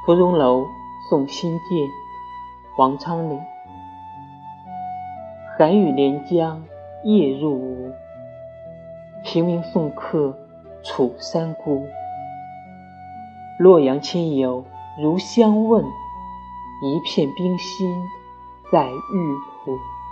芙蓉楼送辛渐，王昌龄。寒雨连江夜入吴，平明送客楚山孤。洛阳亲友如相问，一片冰心在玉壶。